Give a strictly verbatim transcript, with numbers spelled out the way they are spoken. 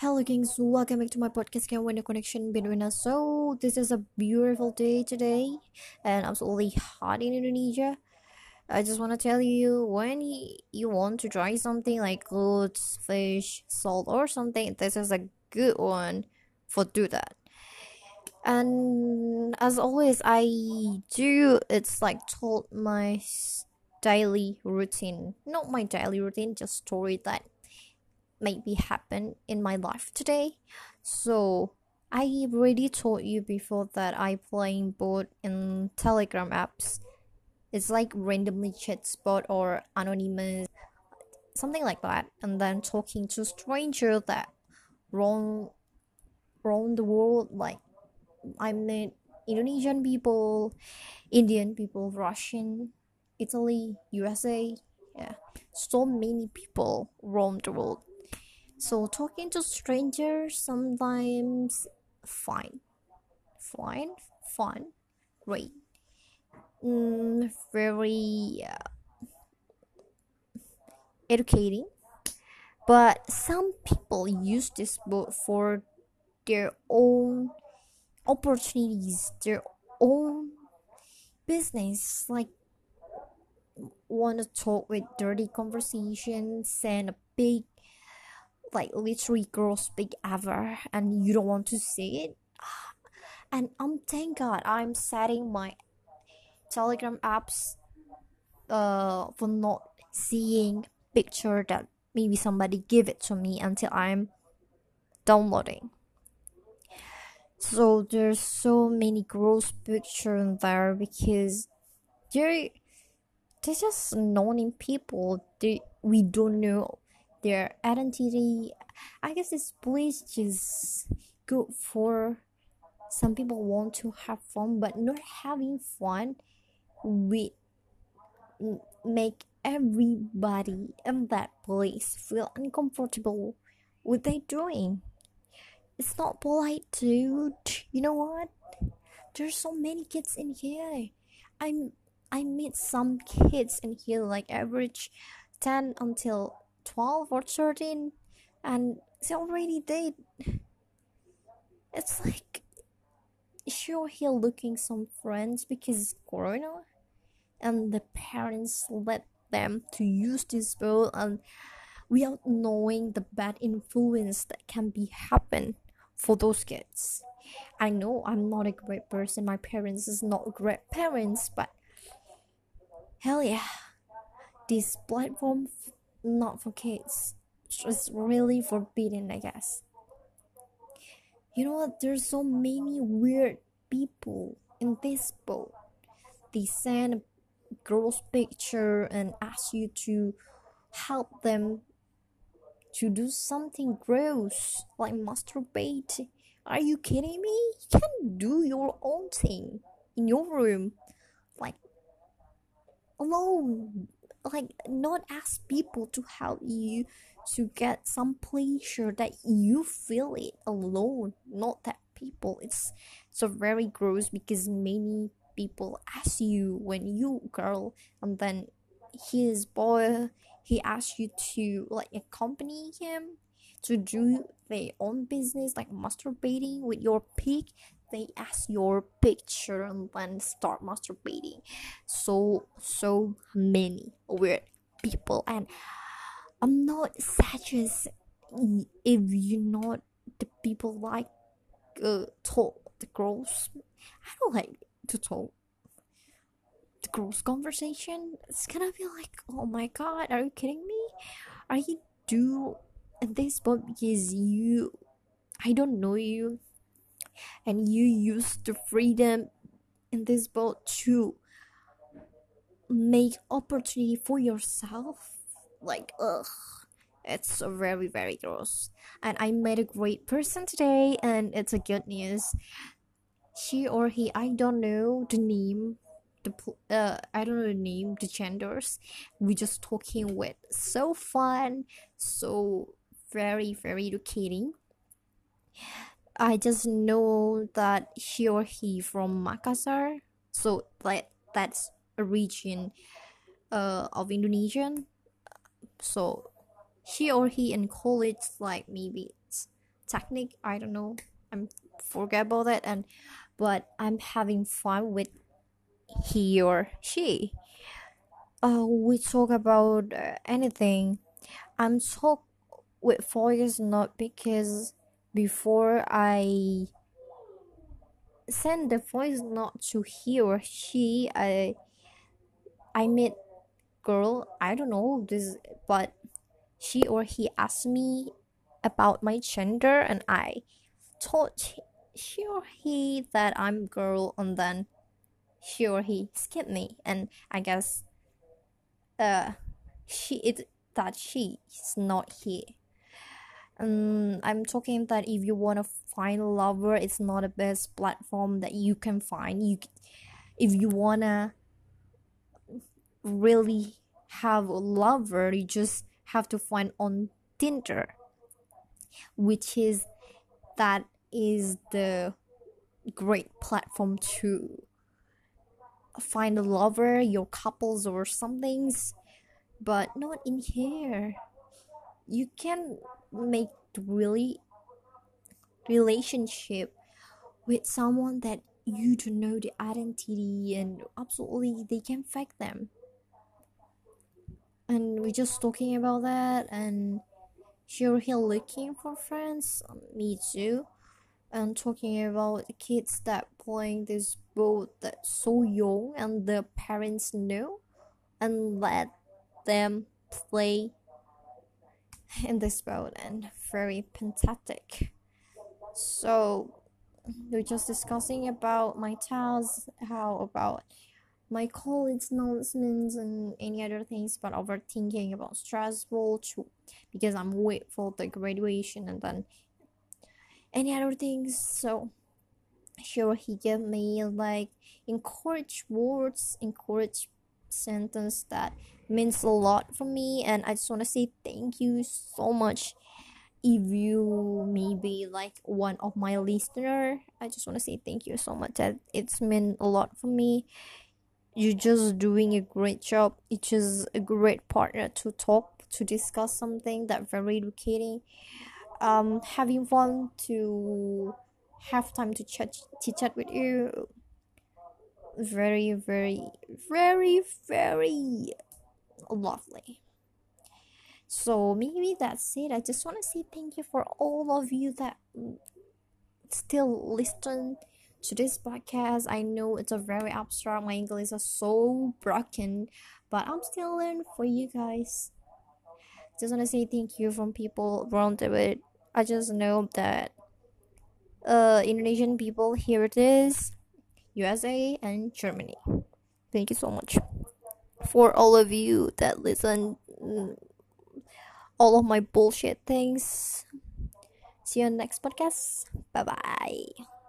Hello, Kings. Welcome back to my podcast. Can win the connection between us. So, this is a beautiful day today, and absolutely hot in Indonesia. I just want to tell you when y- you want to try something like clothes, fish, salt, or something, this is a good one for do that. And as always, I do it's like told my s- daily routine, not my daily routine, just story that maybe happen in my life today. So I already told you before that I playing both in Telegram apps. It's like randomly chat spot or anonymous, something like that, and then talking to stranger that roam roam the world. Like I met Indonesian people, Indian people, Russian, Italy, U S A. Yeah, so many people roam the world. So talking to strangers sometimes fine, fine, fun, great, mm, very uh, educating. But some people use this book for their own opportunities, their own business. Like want to talk with dirty conversations and a big, like literally gross big ever, and you don't want to say it. And um, thank God I'm setting my Telegram apps uh for not seeing picture that maybe somebody give it to me until I'm downloading. So there's so many gross picture in there because they're they're just known people. They we don't know their identity. I guess this place just good for some people want to have fun, but not having fun with make everybody in that place feel uncomfortable with they doing. It's not polite, dude. You know what? There's so many kids in here. I'm I meet some kids in here like average ten until twelve or thirteen, and they already did. It's like sure here looking some friends because corona, and the parents let them to use this phone and without knowing the bad influence that can be happen for those kids. I know I'm not a great person, my parents is not great parents, but hell yeah, this platform f- not for kids. It's really forbidden, I guess. You know what? There's so many weird people in this boat. They send a girl's picture and ask you to help them to do something gross like masturbate. Are you kidding me? You can do your own thing in your room, like alone. Like not ask people to help you to get some pleasure that you feel it alone, not that people. It's so very gross because many people ask you when you girl and then his boy he asks you to like accompany him to do their own business like masturbating with your pig. They ask your picture and then start masturbating. So so many weird people, and I'm not such as if you not the people like uh, talk the girls. I don't like to talk the girls conversation. It's gonna be like, oh my god, are you kidding me? Are you do this but because you I don't know you, and you use the freedom in this boat to make opportunity for yourself. Like ugh, it's so very very gross. And I met a great person today, and it's a good news. She or he, I don't know the name, the uh I don't know the name, the genders. We just talking with so fun, so very very educating. I just know that she or he from Makassar, so that that's a region uh of Indonesian. So she or he in college like maybe it's technique. I don't know. I'm forget about it. And but I'm having fun with he or she. Uh, we talk about uh, anything. I'm talk with voice not because before I send the voice note to he or she, I I met girl. I don't know this, but she or he asked me about my gender, and I told she or he that I'm girl, and then she or he skipped me, and I guess uh she it that she is not here. Um, I'm talking that if you want to find a lover, it's not the best platform that you can find. You, if you wanna really have a lover, you just have to find on Tinder, which is that is the great platform to find a lover, your couples or somethings, but not in here. You can make really relationship with someone that you don't know the identity, and absolutely they can fake them. And we're just talking about that, and sure he looking for friends. Um, me too. And talking about the kids that playing this boat that's so young and the parents know and let them play in this boat, and very fantastic. So we're just discussing about my tasks, how about my college announcements and any other things, but overthinking about stressful too, because I'm wait for the graduation and then any other things. So sure he gave me like encourage words, encourage sentence that means a lot for me, and I just want to say thank you so much. If you maybe like one of my listener, I just want to say thank you so much, that it's meant a lot for me. You're just doing a great job. It's just a great partner to talk, to discuss something that very educating. Um having fun to have time to chat to chat with you. Very very very very lovely. So maybe that's it. I just want to say thank you for all of you that still listen to this podcast. I know it's a very abstract. My English is so broken, but I'm still learning for you guys. Just want to say thank you from people around the world. I just know that uh Indonesian people, here it is, U S A and Germany. Thank you so much for all of you that listen mm, all of my bullshit things. See you on the next podcast. Bye bye.